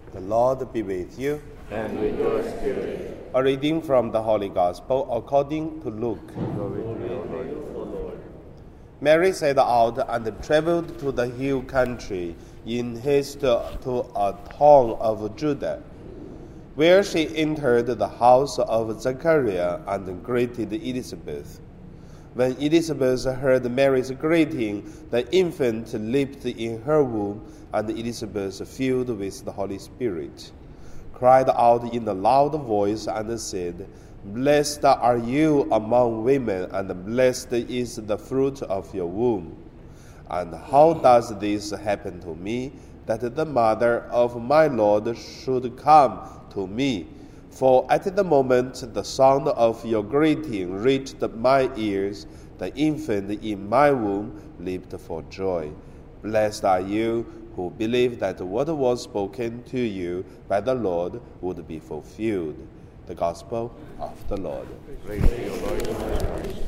The Lord be with you. And with your spirit. A reading from the Holy Gospel according to Luke. Glory to you, O Lord. Mary set out and traveled to the hill country in haste to a town of Judah, where she entered the house of Zechariah and greeted Elizabeth. When Elizabeth heard Mary's greeting, the infant leaped in her womb, and Elizabeth, filled with the Holy Spirit, cried out in a loud voice and said, "Blessed are you among women, and blessed is the fruit of your womb. And how does this happen to me, that the mother of my Lord should come to me? For at the moment the sound of your greeting reached my ears, the infant in my womb leaped for joy. Blessed are you who believe that what was spoken to you by the Lord would be fulfilled." The Gospel of the Lord. Praise to you, Lord Jesus Christ.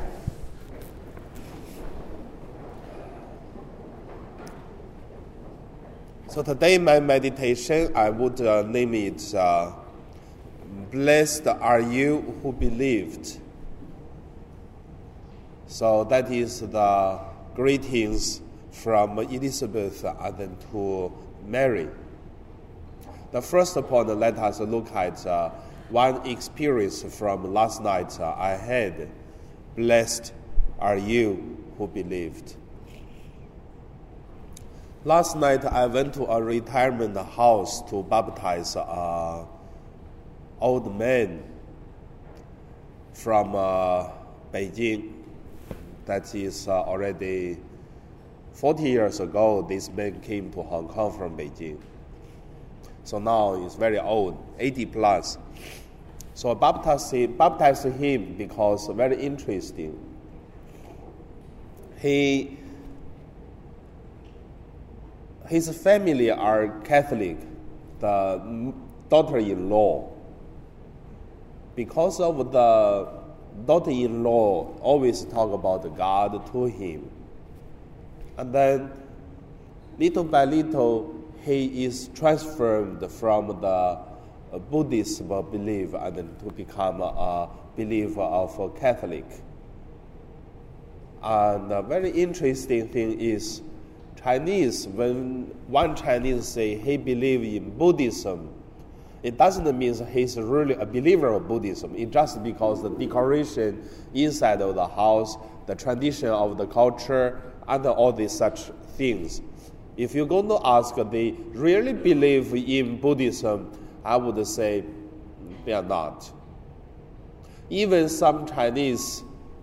So today my meditation, I would name it, "Blessed are you who believed." So that is the greetings from Elizabeth and then to Mary. The first point, let us look at one experience from last night I had. Blessed are you who believed. Last night I went to a retirement house to baptize an old man from Beijing. That is already 40 years ago, this man came to Hong Kong from Beijing. So now he's very old, 80 plus. So I baptized him because very interesting. His family are Catholic, the daughter-in-law. Because of the daughter-in-law always talk about God to him. And then little by little, he is transformed from the Buddhism belief and then to become a believer of a Catholic. And a very interesting thing is Chinese, when one Chinese say he believes in Buddhism, it doesn't mean he's really a believer of Buddhism. It's just because the decoration inside of the house, the tradition of the culture, and all these such things. If you're going to ask they really believe in Buddhism, I would say they are not. Even some Chinese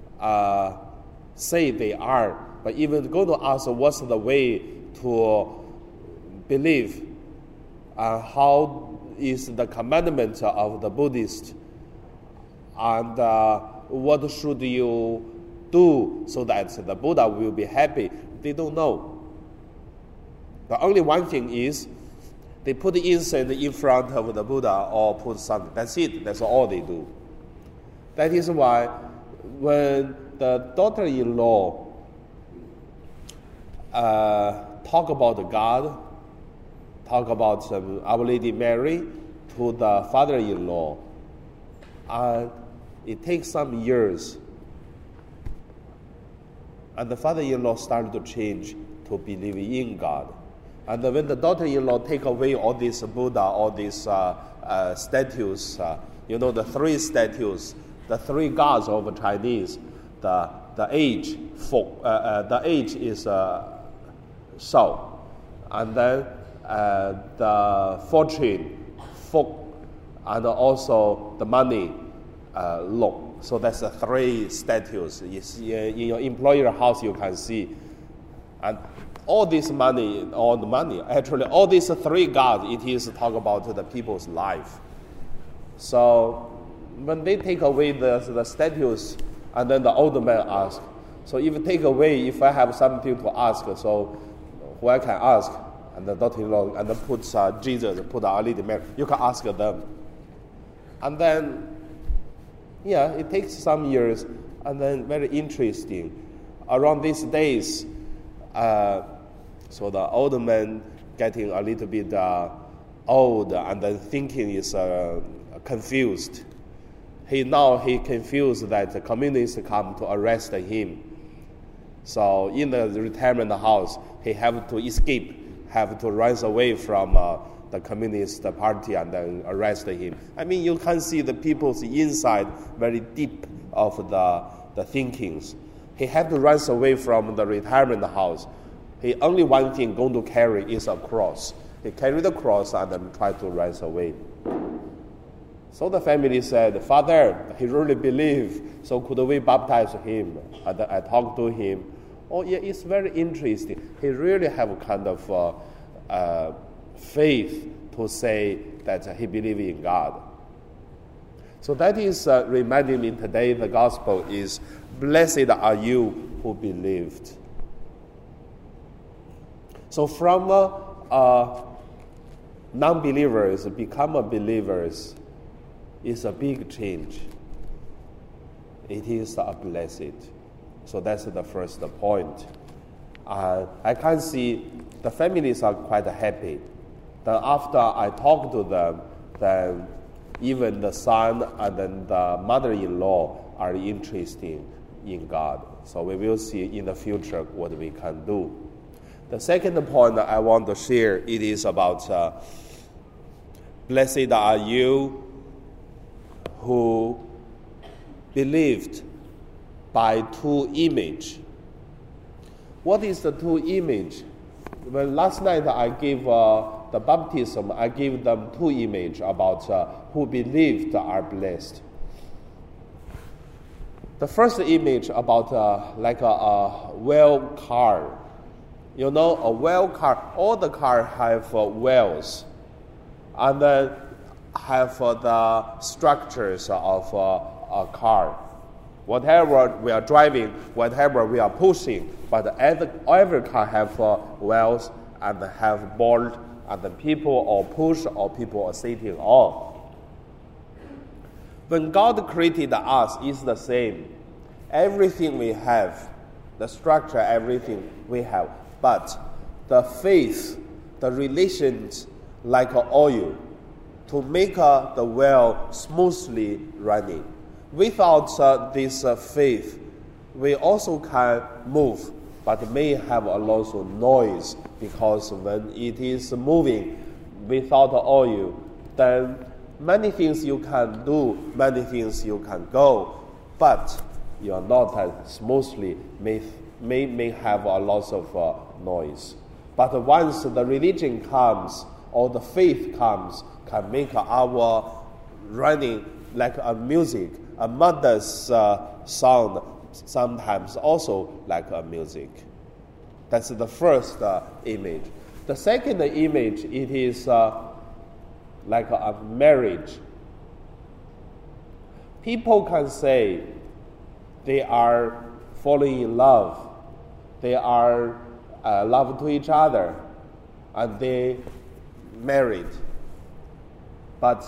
say they are, but even going to ask what's the way to believe, how is the commandment of the Buddhist, and what should you do so that the Buddha will be happy, they don't know. The only one thing is they put incense in front of the Buddha or put something. That's it. That's all they do. That is why when the daughter-in-law talk about God, talk about Our Lady Mary to the father-in-law, and it takes some years, and the father-in-law started to change to believe in God. And when the daughter-in-law take away all these Buddha, all these statues, the three statues, the three gods of Chinese, the age is Shao, and then the fortune, Fok, and also the money, Long. So that's the three statues. In your employer house you can see. And all this money, actually all these three gods, it is talk about the people's life. So when they take away the statues, and then the old man asks, so if you take away, if I have something to ask, so who I can ask? And the daughter-in-law, and then puts Jesus, put Our Lady Mary, you can ask them. And then, it takes some years, and then very interesting. Around these days, so the old man getting a little bit old and then thinking is confused. He confused that the communists come to arrest him. So in the retirement house, he have to escape, have to run away from the Communist Party and then arrest him. I mean, you can see the people's inside very deep of the thinkings. He had to run away from the retirement house. He only one thing going to carry is a cross. He carried the cross and then tried to run away. So the family said, "Father, he really believed, so could we baptize him?" And I talked to him. Oh yeah, it's very interesting. He really have kind of faith to say that he believes in God. So that is reminding me today the gospel is, blessed are you who believed. So from non-believers become believers is a big change. It is a blessed. So that's the first point. I can see the families are quite happy. Then after I talk to them, then even the son and then the mother-in-law are interested in God. So we will see in the future what we can do. The second point I want to share, it is about blessed are you who believed by true image. What is the true image? When last night I gave the baptism, I gave them two images about who believed are blessed. The first image about like a well car. You know, a well car, all the cars have wheels, and then have the structures of a car. Whatever we are driving, whatever we are pushing, but every car have wheels and have board, and the people are push or people are sitting on. When God created us, it's the same. Everything we have, the structure, everything we have. But the faith, the relations, like oil, to make the well smoothly running. Without this faith, we also can move, but may have a lot of noise, because when it is moving without oil, then many things you can do, many things you can go, but you are not as smoothly, may have a lot of noise. But once the religion comes or the faith comes, can make our running like a music, a mother's sound, sometimes also like a music. That's the first image. The second image, it is like a marriage. People can say they are falling in love, they are love to each other, and they married. But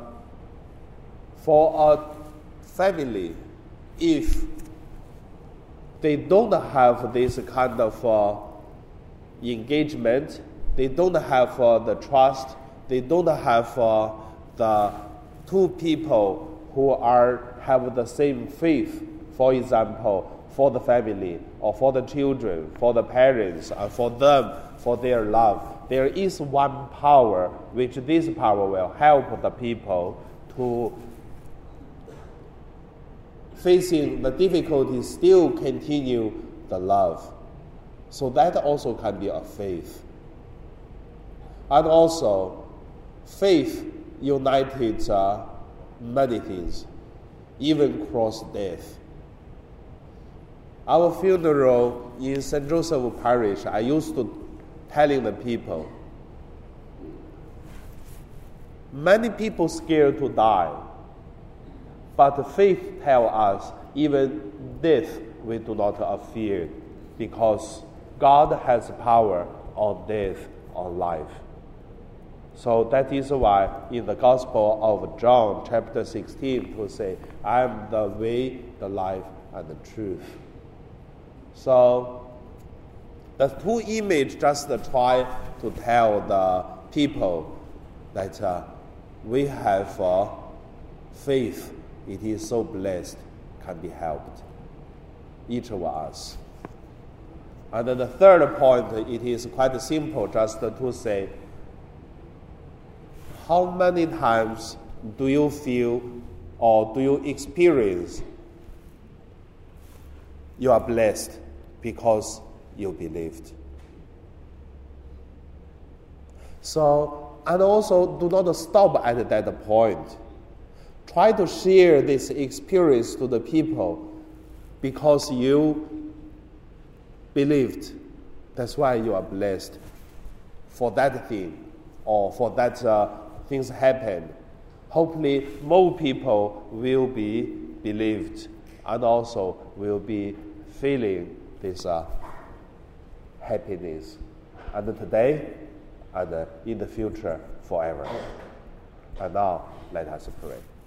for a family, if they don't have this kind of engagement, they don't have the trust, they don't have the two people who have the same faith, for example, for the family or for the children, for the parents, and for them, for their love. There is one power, which this power will help the people to facing the difficulties still continue the love. So that also can be a faith. And also, faith united many things, even cross death. Our funeral in St. Joseph Parish, I used to telling the people, many people scared to die, but faith tells us even death we do not fear, because God has power on death, on life. So that is why in the Gospel of John, chapter 16, to say, I am the way, the life, and the truth. So the two images just try to tell the people that we have faith. It is so blessed, can be helped, each of us. And then the third point, it is quite simple, just to say, how many times do you feel or do you experience you are blessed because you believed? So, and also do not stop at that point. Try to share this experience to the people because you believed. That's why you are blessed for that thing or for that things happen. Hopefully more people will be believed and also will be feeling this happiness. And today and in the future forever. And now let us pray.